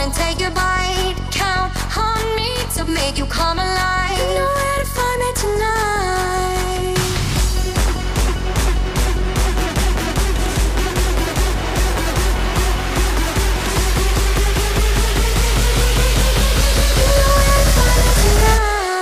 and take a bite. Count on me to make you come alive. You know where to find me tonight. You know where to find me tonight.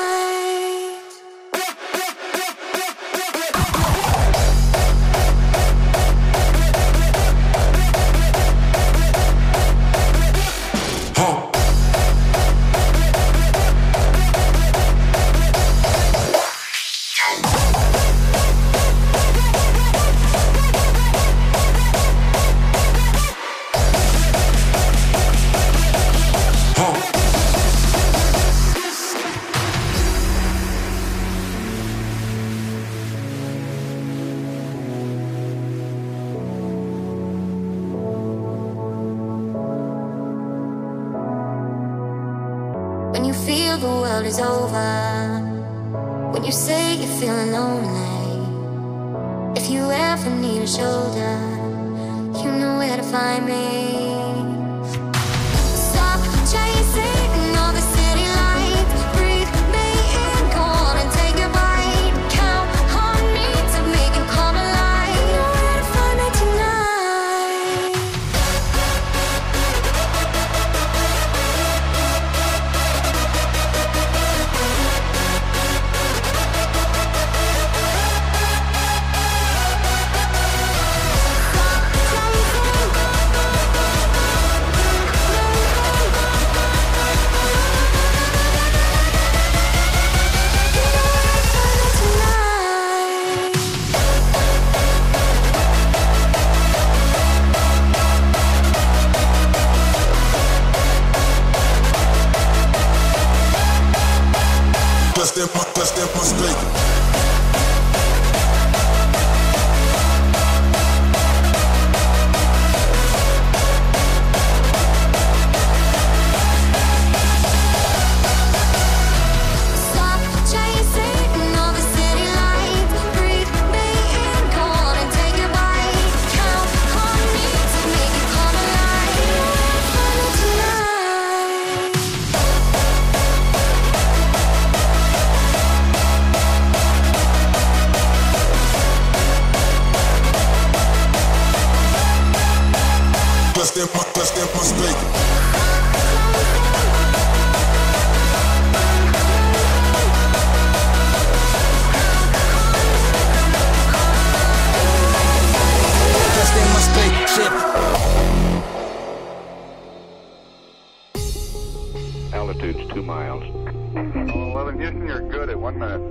When you feel the world is over, when you say you're feeling lonely, if you ever need a shoulder, you know where to find me. Stop chasing all the city lights, breathe me in, go on and take a bite. Count on me to make you come alive. You know where to find me tonight. Plus them must speak. Stop chasing all the city lights, breathe me in, go on and take a bite. Count on me to make you come alive. You know where to find me tonight. Plus them must speak. Altitude's 2 miles. 11 Houston, you're good at 1 minute.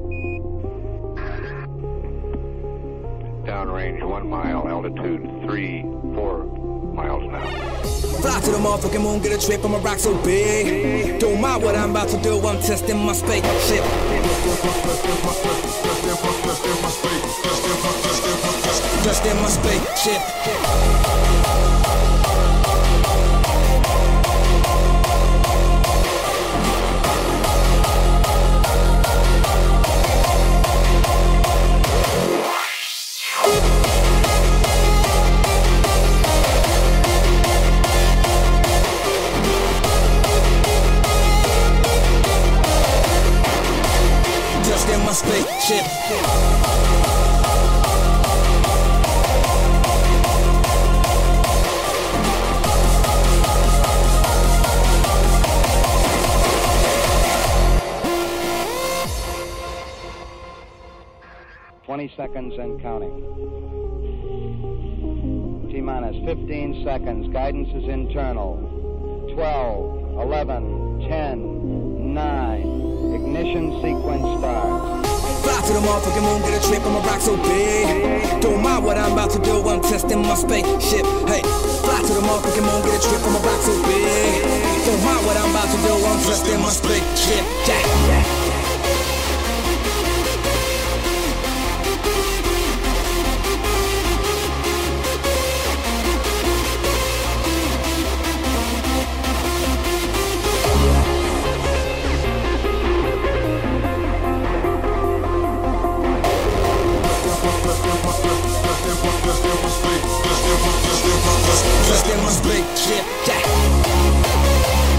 Downrange 1 mile. Altitude 3-4 miles now. Fly to the motherfucking moon, get a trip, I'ma rock so big. Don't mind what I'm about to do, I'm testing my spaceship. Just in my spaceship. Just in my spaceship. Seconds and counting. T-minus 15 seconds. Guidance is internal. 12, 11, 10, 9. Ignition sequence starts. Fly to the motherfucking moon, get a trip, I'ma rock so big. Don't mind what I'm about to do, I'm testing my spaceship. Hey, fly to the motherfucking moon, get a trip, I'ma rock so big. Don't mind what I'm about to do, I'm testing my spaceship. Yeah. Just in my spaceship, yeah.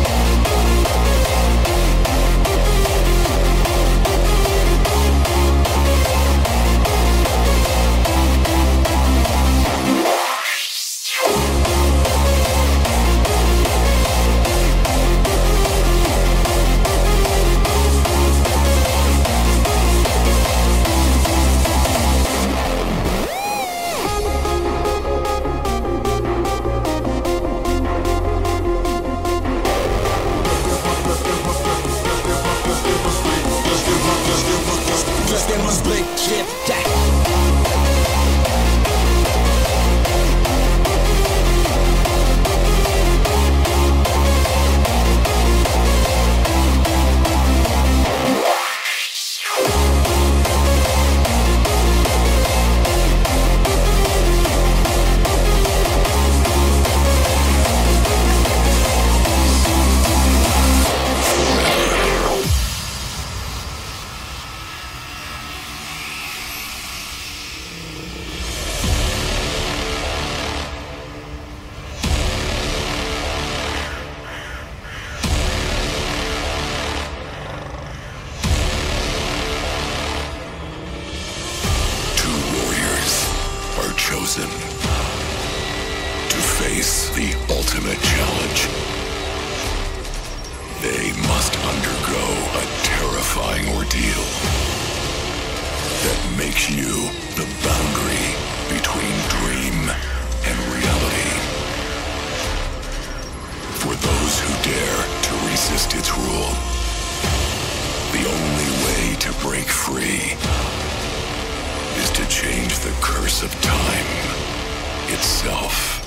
for those who dare to resist its rule. The only way to break free is to change the curse of time itself.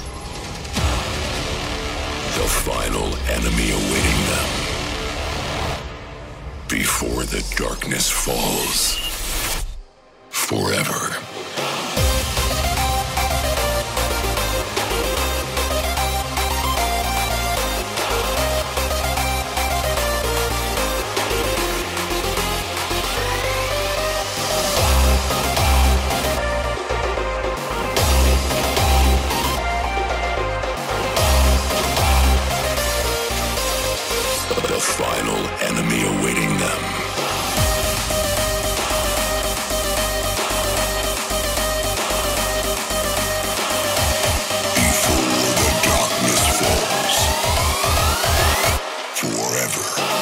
The final enemy awaiting them before the darkness falls forever. The final enemy awaiting them. Before the darkness falls forever.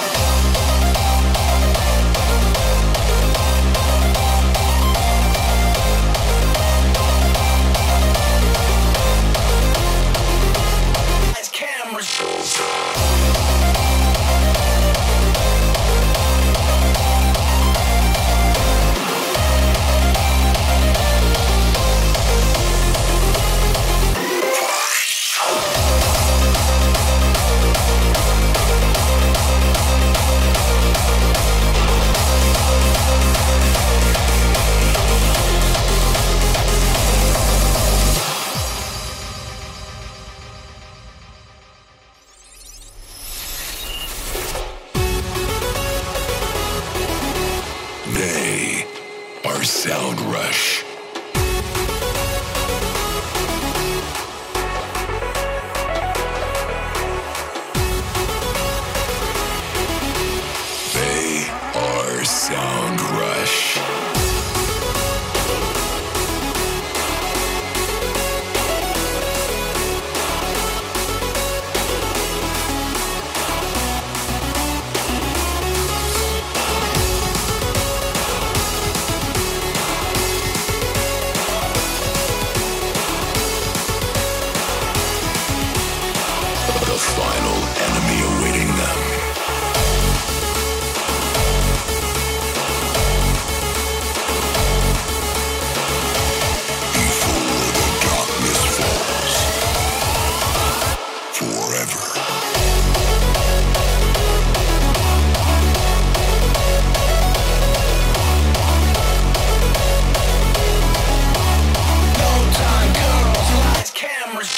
They are Sound Rush. They are Sound Rush. The final enemy awaiting them. Before the darkness falls forever. No time, girls, lights, cameras.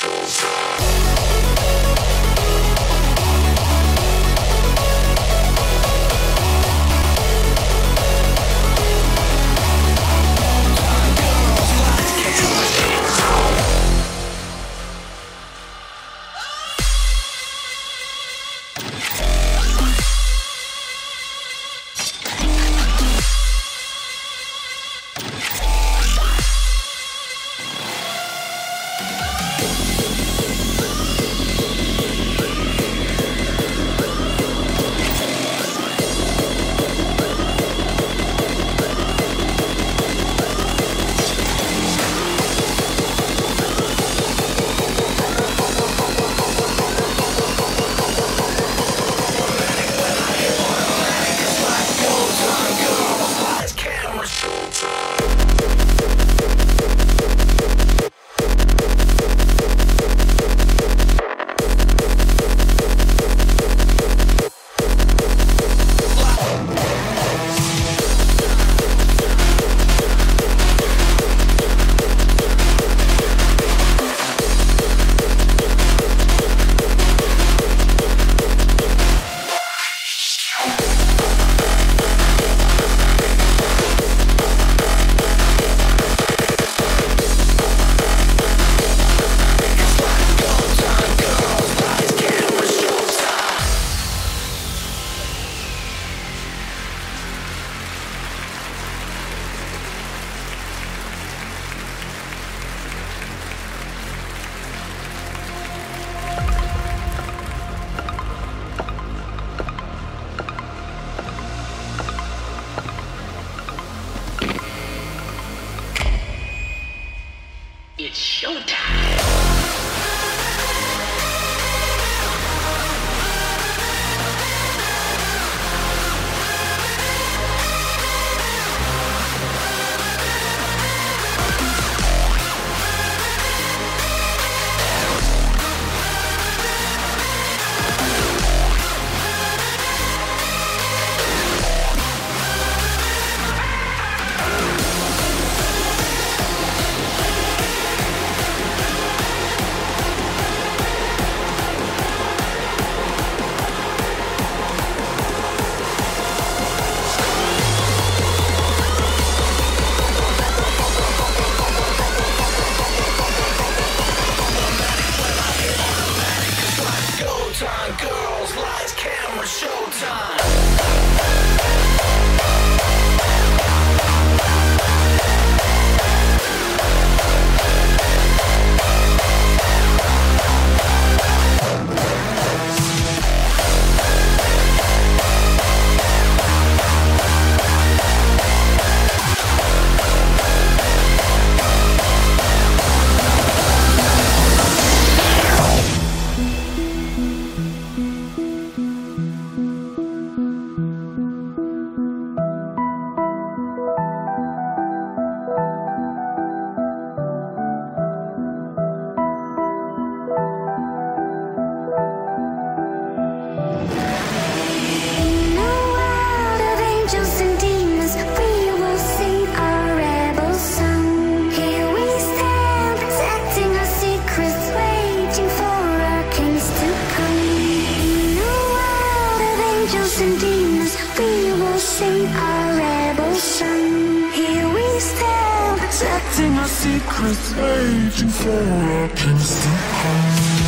showtime. Girls, lights, camera, showtime. Secrets waiting for our kings to come.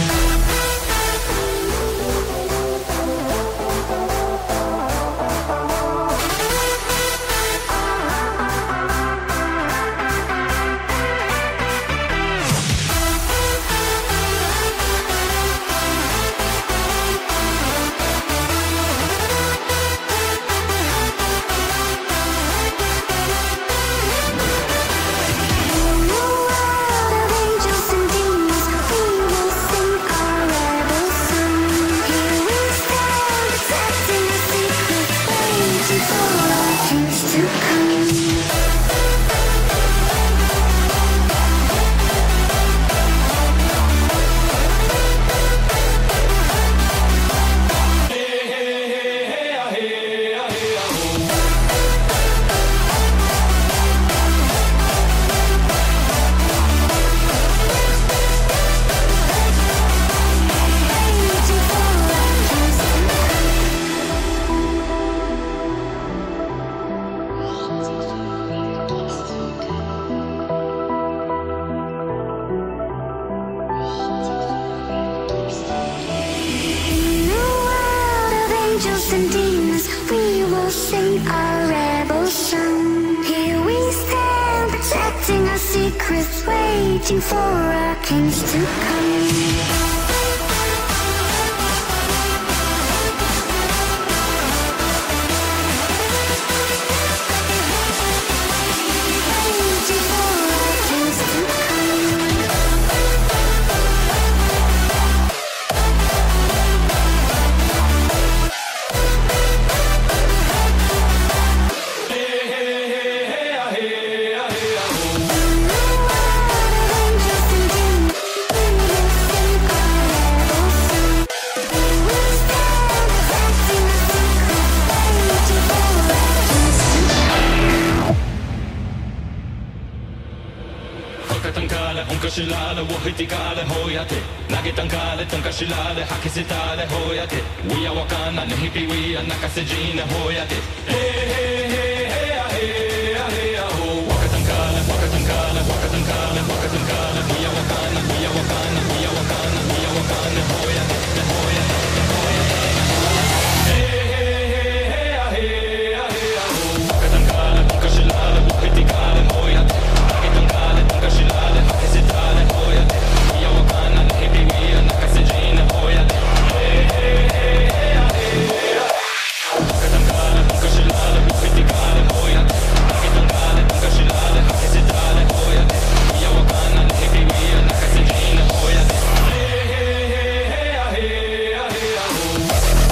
Secrets waiting for our kings to come. Shilale, Wahitikale, Hoyate, Nagitankale, Tonkashilale, Hakisitale, Hoyate, we are Wakana, Nihipi, we are Nakasejina, Hoyate, hey, hey, hey, hey, hey, hey, ho, Wakatankale, Wakatankale, Wakatankale, Wakatankale, we are Wakana, we are Wakana, we are Wakana, we are Wakana, Hoyate, Hoyate, Hoyate, hey, hey, hey, hey, hey, ho, Wakatankale, Tonkashilale, Wahitikale, Hoyate, Nagitankale, Tonkashilale, Hakisitale, Hoyate, we are Wakana, Nihipi, we are Nakasejina, Hoyate, hey, hey, hey, hey, hey, Wakatankale, Tonkashilale, Wahitikale, Hoyate, Nagitankale, Tonkashilale, Hakisitale, Hoyate, we are Wakana, Nihipi, we are Nakasejina, Hoyate, hey, hey, hey, hey, hey, hey, ho.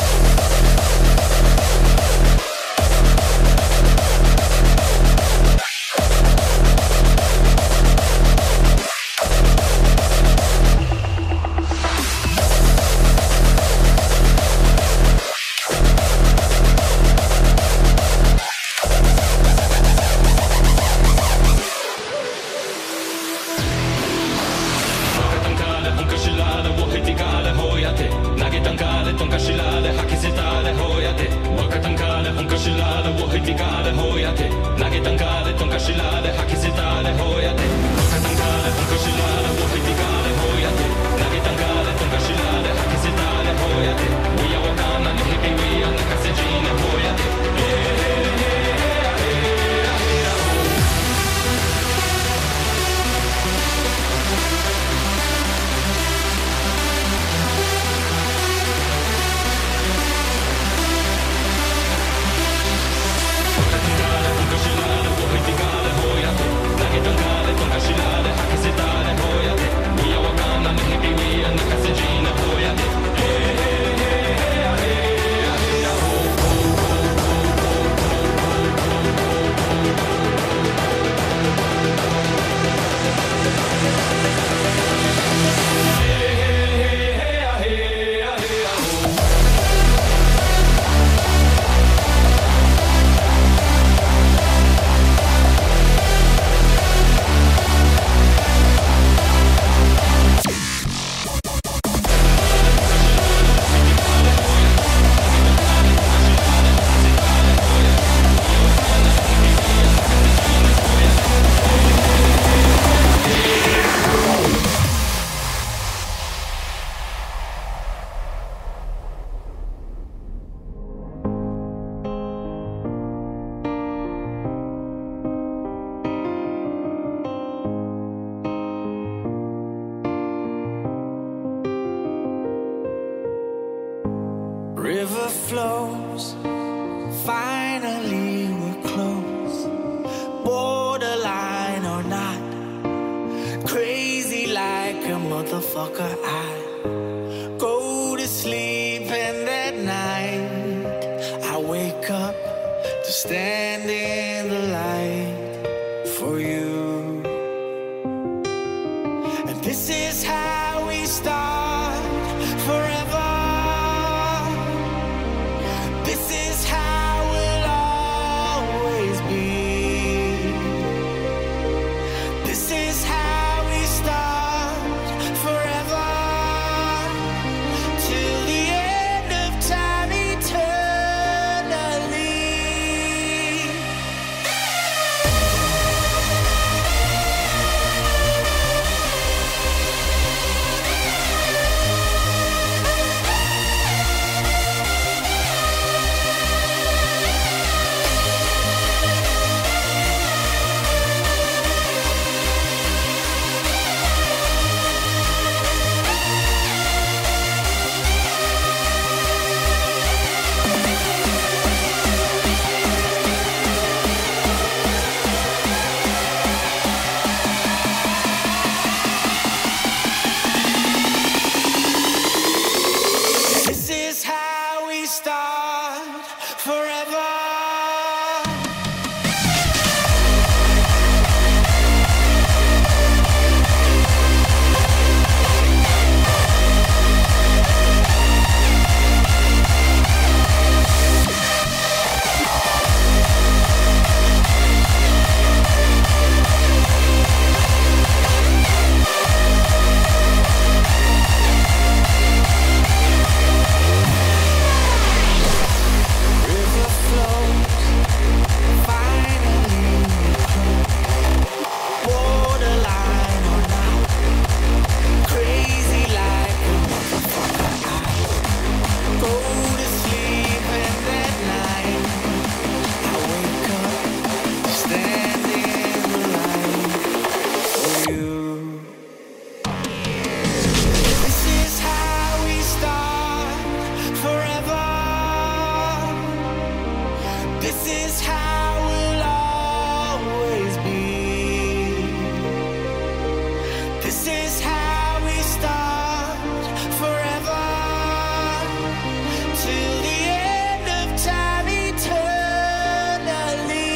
Wakatankale, Tonkashilale, Wahitikale, Hoyate, Nagitankale, Tonkashilale, Hakisitale, Hoyate, Wakatankale, Tonkashilale, Wahitikale, Hoyate, Nagitankale, Tonkashilale, Hakisitale, Hoyate, Wakatankale, Tonkashilale, Wahitikale, Hoyate, Nagitankale, Tonkashilale, Hakisitale, Hoyate. River flows, finally we're close. Borderline or not, crazy like a motherfucker. I go to sleep and that night I wake up to stand in the light for you. And this is how we start forever. This is how we'll always be. This is how we start forever. Till the end of time eternally. This is how we start forever. River flows, finally close. Borderline or not, crazy like a motherfucker. I go to sleep and that night I wake up to stand in the light for you. This is how we start forever. This is how we'll always be. This is how we start forever. Till the end of time eternally.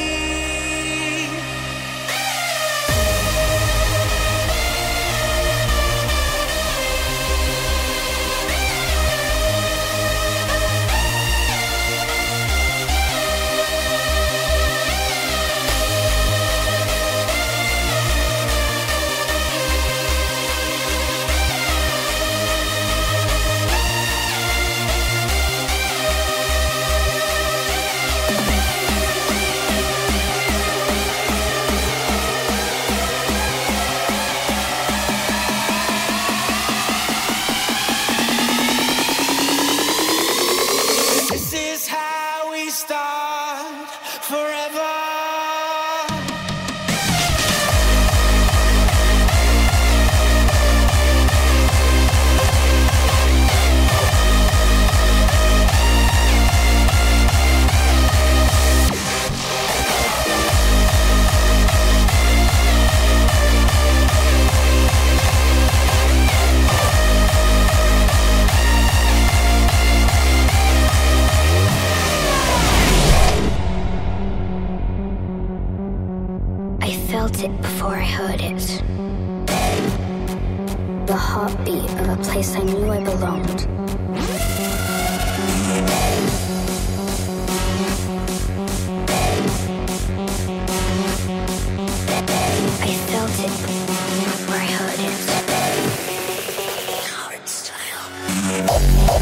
This is how we start forever. I felt it before I heard it. The heartbeat of a place I knew I belonged. I felt it before I heard it. Hard style.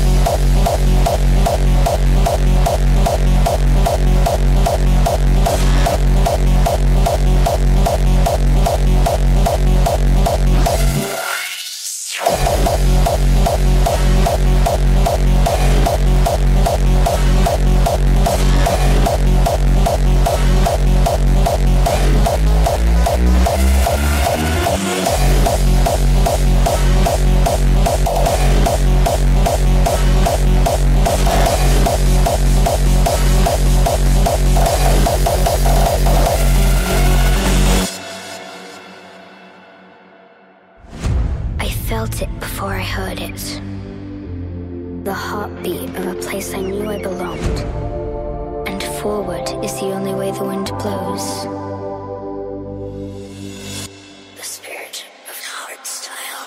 heard it. The heartbeat of a place I knew I belonged. And forward is the only way the wind blows. The spirit of hardstyle.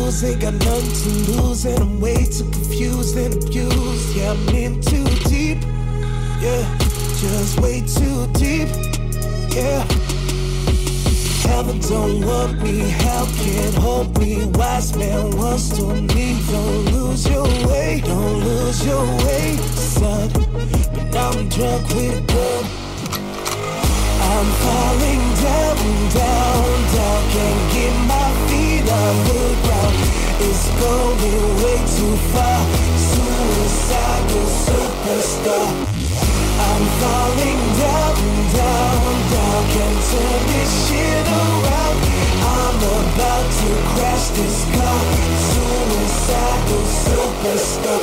lose, ain't got nothing to lose, and I'm way too confused and abused. Yeah, I'm in too deep, yeah, just way too deep, yeah. Heaven don't want me, hell can't hold me. Wise man once told me, don't lose your way, don't lose your way, son. But now I'm drunk with blood. I'm falling down, down, down. Can't get my feet on the ground. It's going way too far. Suicidal superstar. I'm falling down, down, down. Can't turn this shit around. I'm about to crash this car. Suicidal superstar.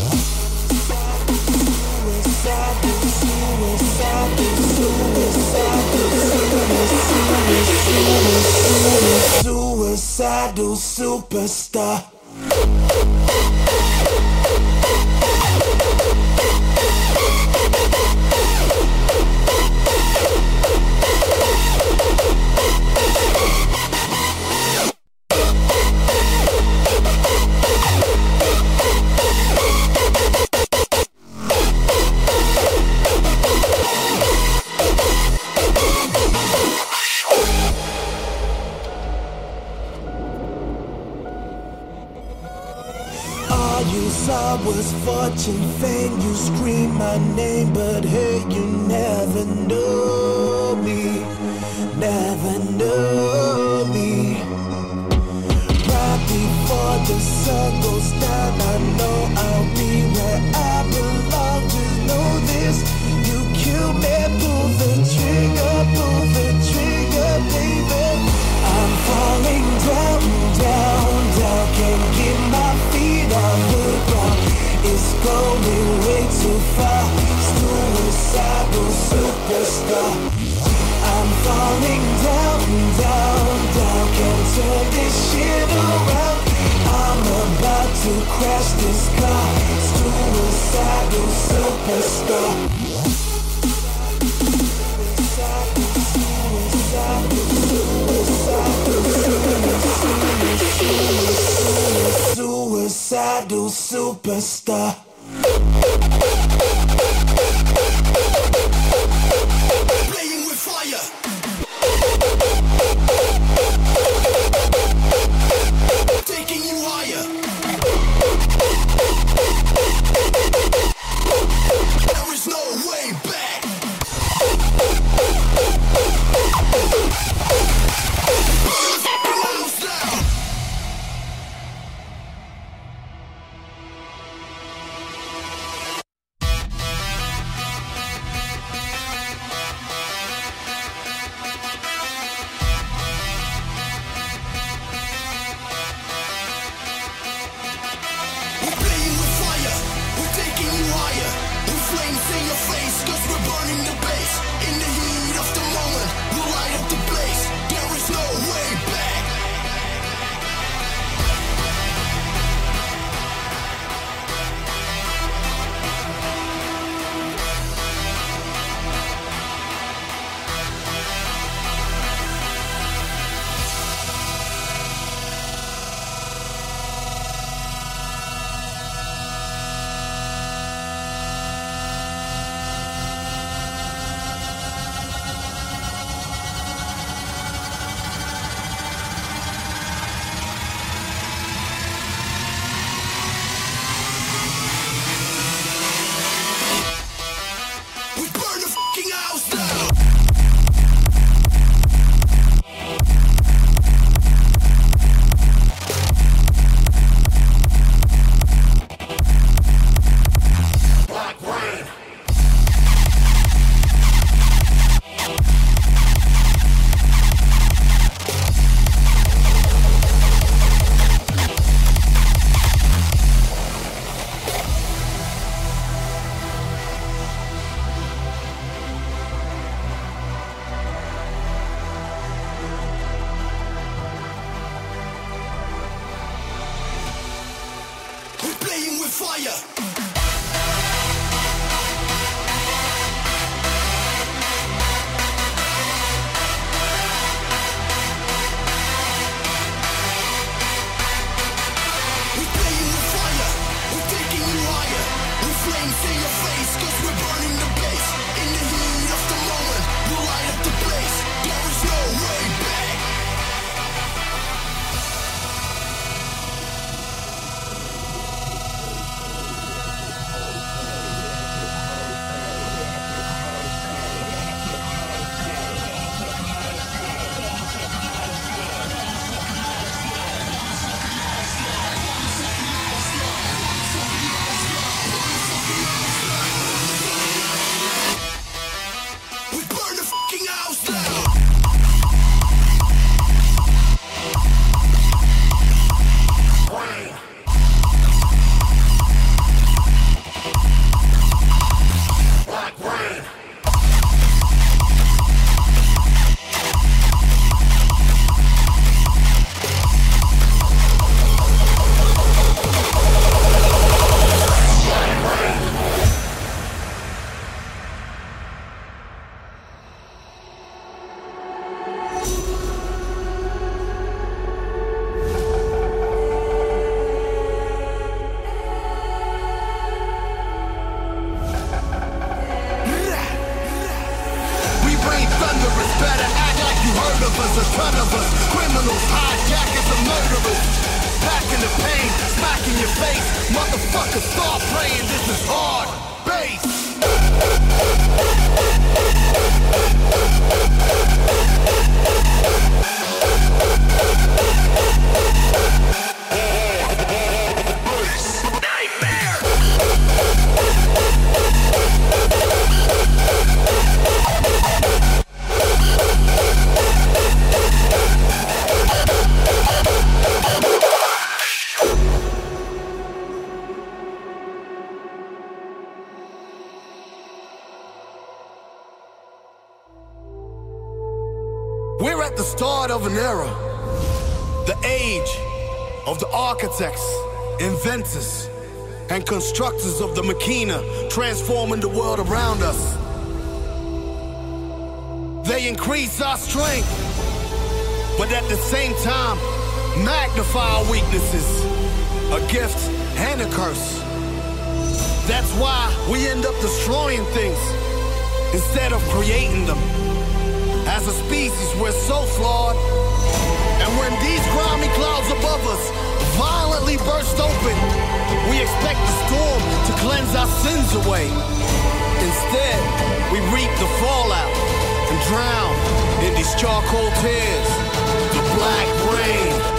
Suicidal, suicidal, suicidal, suicidal superstar. Was fortune, fame, you scream my name, but hey, you never know me, never know me. Right before the sun goes down, I know I'll be where I belong. Just know this, you kill me, pull the trigger, baby. I'm falling down, down, down, can't get my feet on the ground. It's going way too far. Suicidal superstar. I'm falling down, down, down. Can't turn this shit around. I'm about to crash this car. Suicidal superstar. Suicidal superstar. Playing with fire. Taking you higher. There is no way back. fire. a ton of us. Criminals, hijackers, and murderers. Packing the pain, smacking your face. Motherfuckers, start praying, this is hard bass. We're at the start of an era, the age of the architects, inventors, and constructors of the machina transforming the world around us. They increase our strength, but at the same time, magnify our weaknesses, a gift and a curse. That's why we end up destroying things instead of creating them. As a species, we're so flawed. And when these grimy clouds above us violently burst open, we expect the storm to cleanse our sins away. Instead, we reap the fallout and drown in these charcoal tears, the black rain.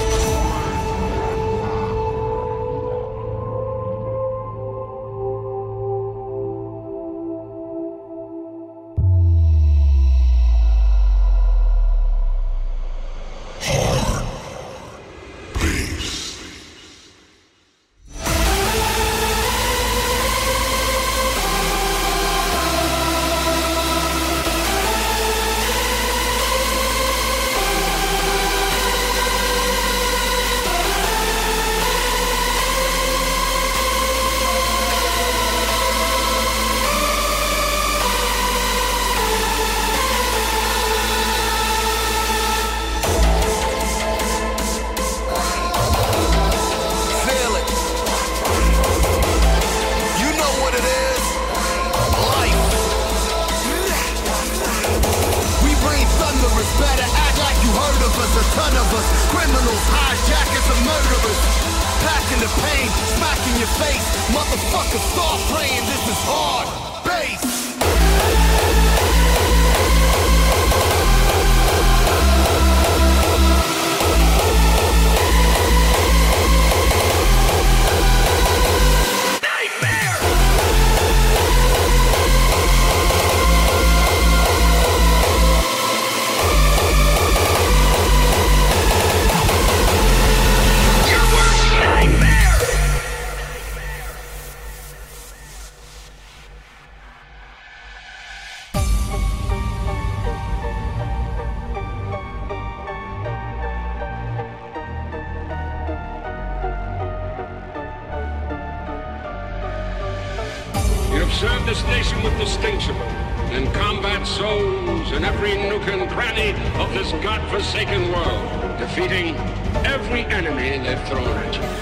Serve this nation with distinction and combat souls in every nook and cranny of this godforsaken world, defeating every enemy they've thrown at you.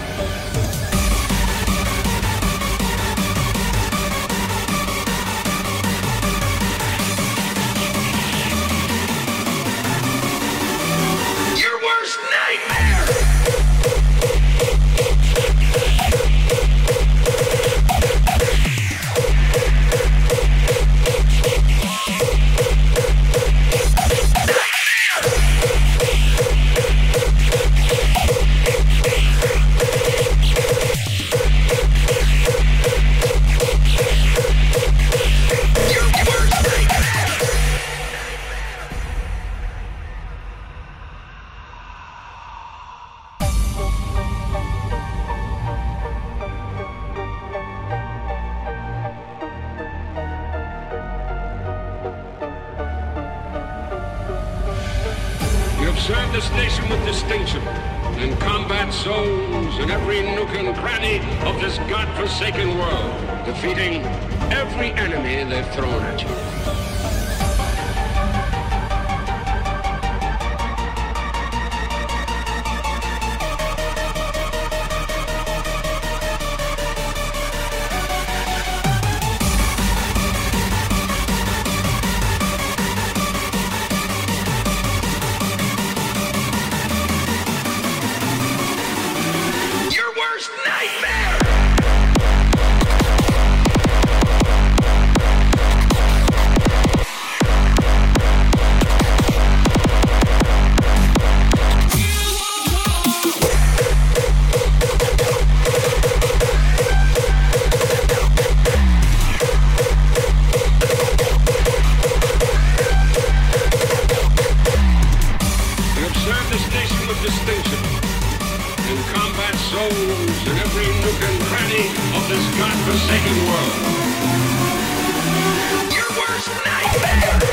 Serve this nation with distinction and combat souls in every nook and cranny of this godforsaken world, defeating every enemy they've thrown at you. this godforsaken world. Your worst nightmare!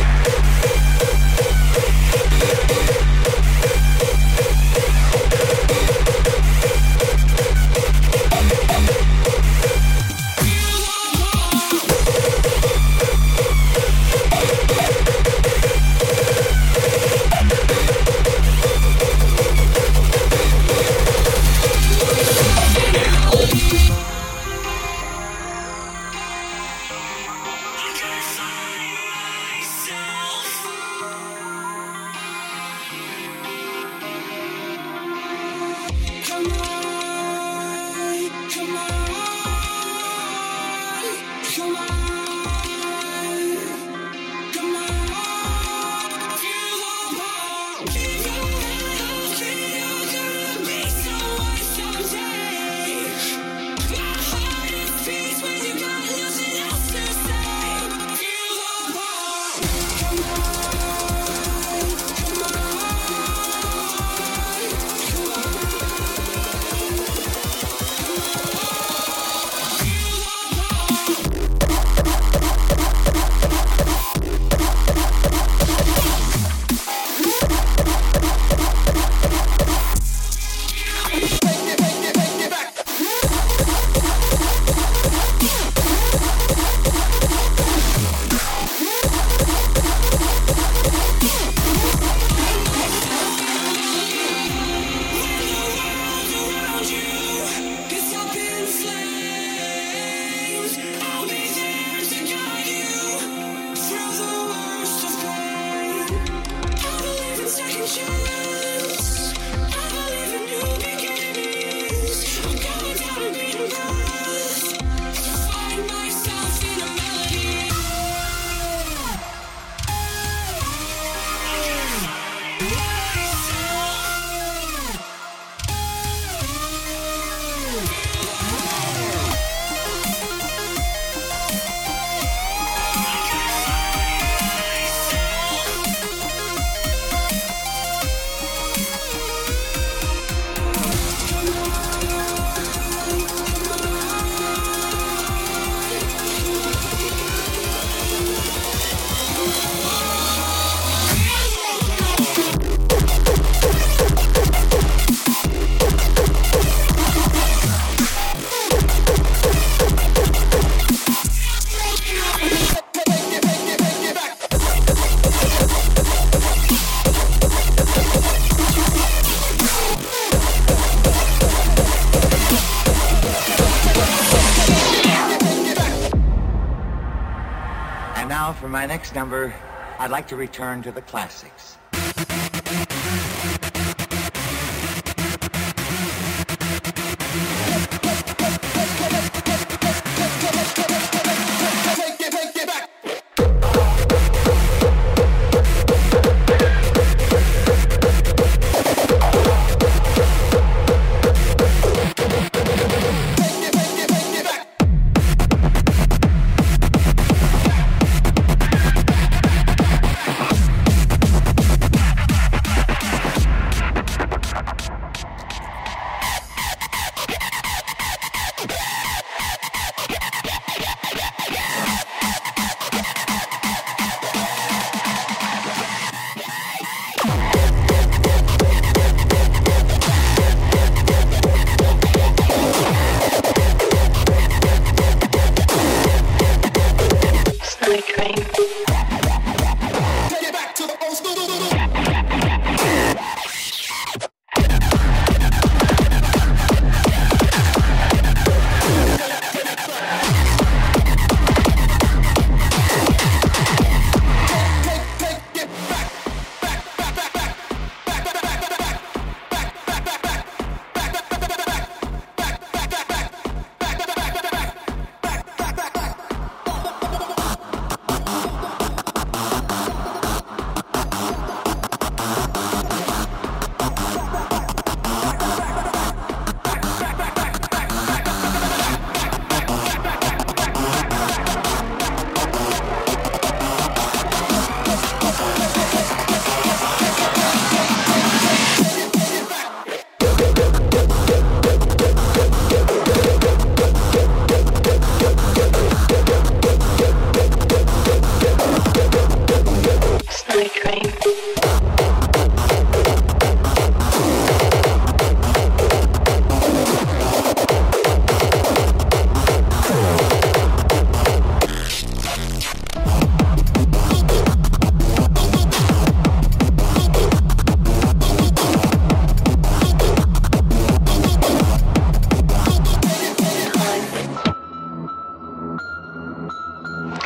For my next number, I'd like to return to the classics.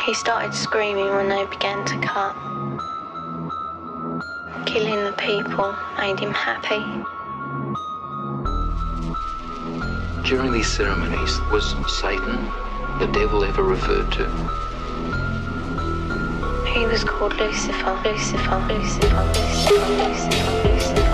He started screaming when they began to cut. Killing the people made him happy. During these ceremonies, was Satan the devil ever referred to? He was called Lucifer, Lucifer, Lucifer, Lucifer, Lucifer, Lucifer,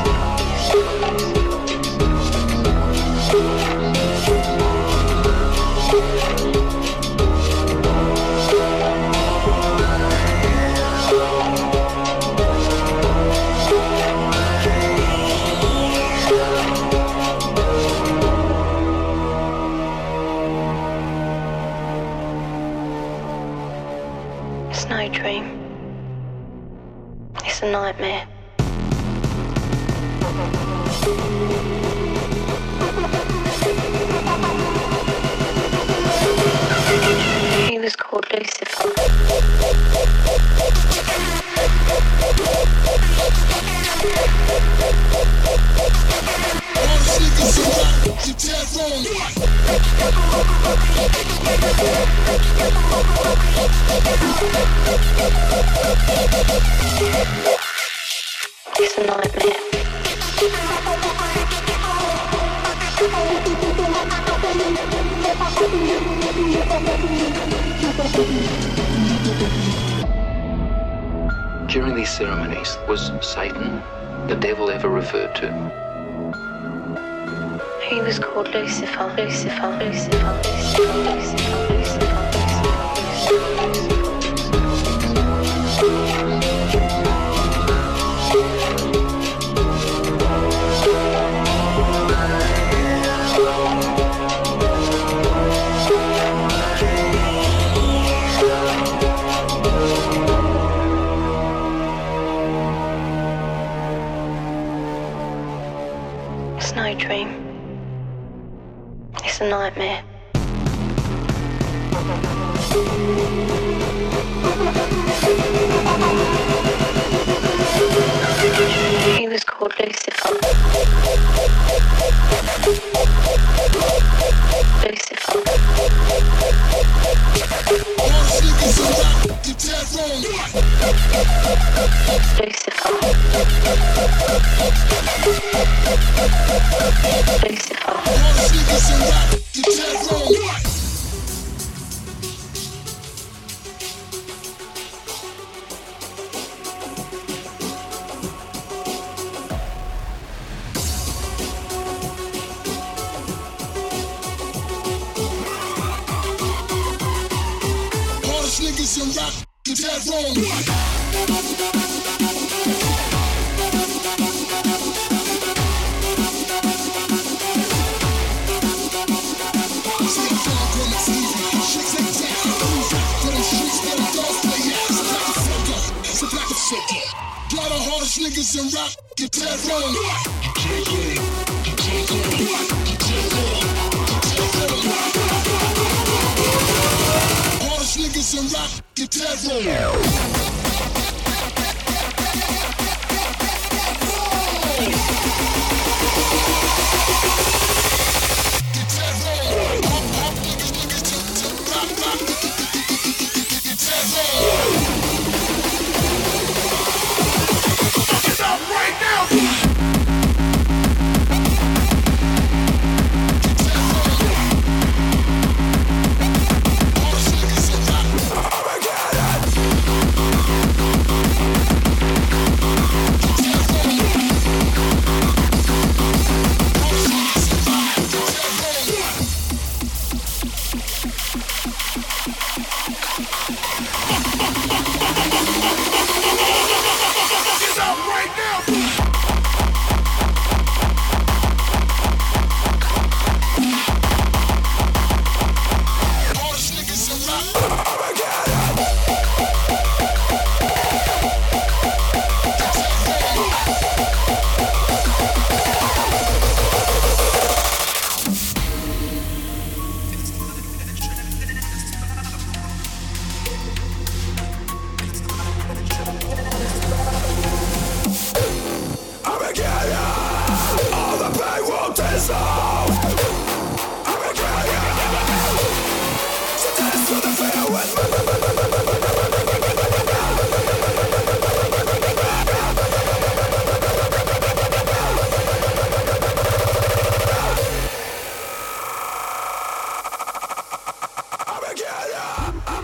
It's no dream. It's a nightmare. He was called Lucifer. It's a nightmare. During these ceremonies, was Satan the devil ever referred to? He was called Lucifer, Lucifer, Lucifer, Lucifer, Lucifer, Lucifer. It's no dream. It's a nightmare. He was called Lucifer. Lucifer. Niggas in rap, get that wrong. Got the hardest niggas in rap, get that wrong. Hardest niggas in rap, get that wrong.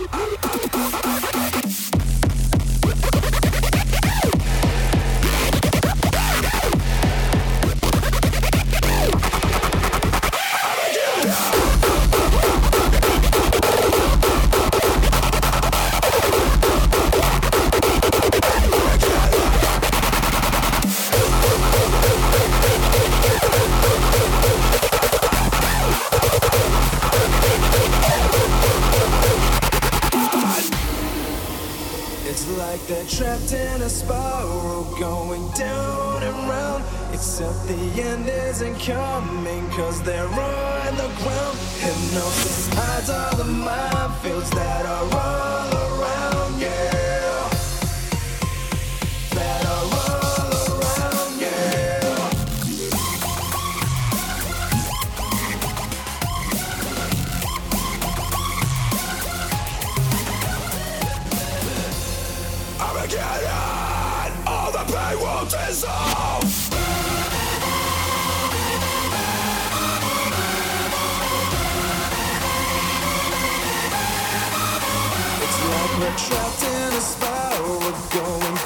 They're trapped in a spiral going down and round, except the end isn't coming cause they're on the ground. Hypnosis hides all the minefields that are all around, yeah. That are all around, yeah. Armageddon, all the pain will dissolve. It's like we're trapped in a spiral, we're going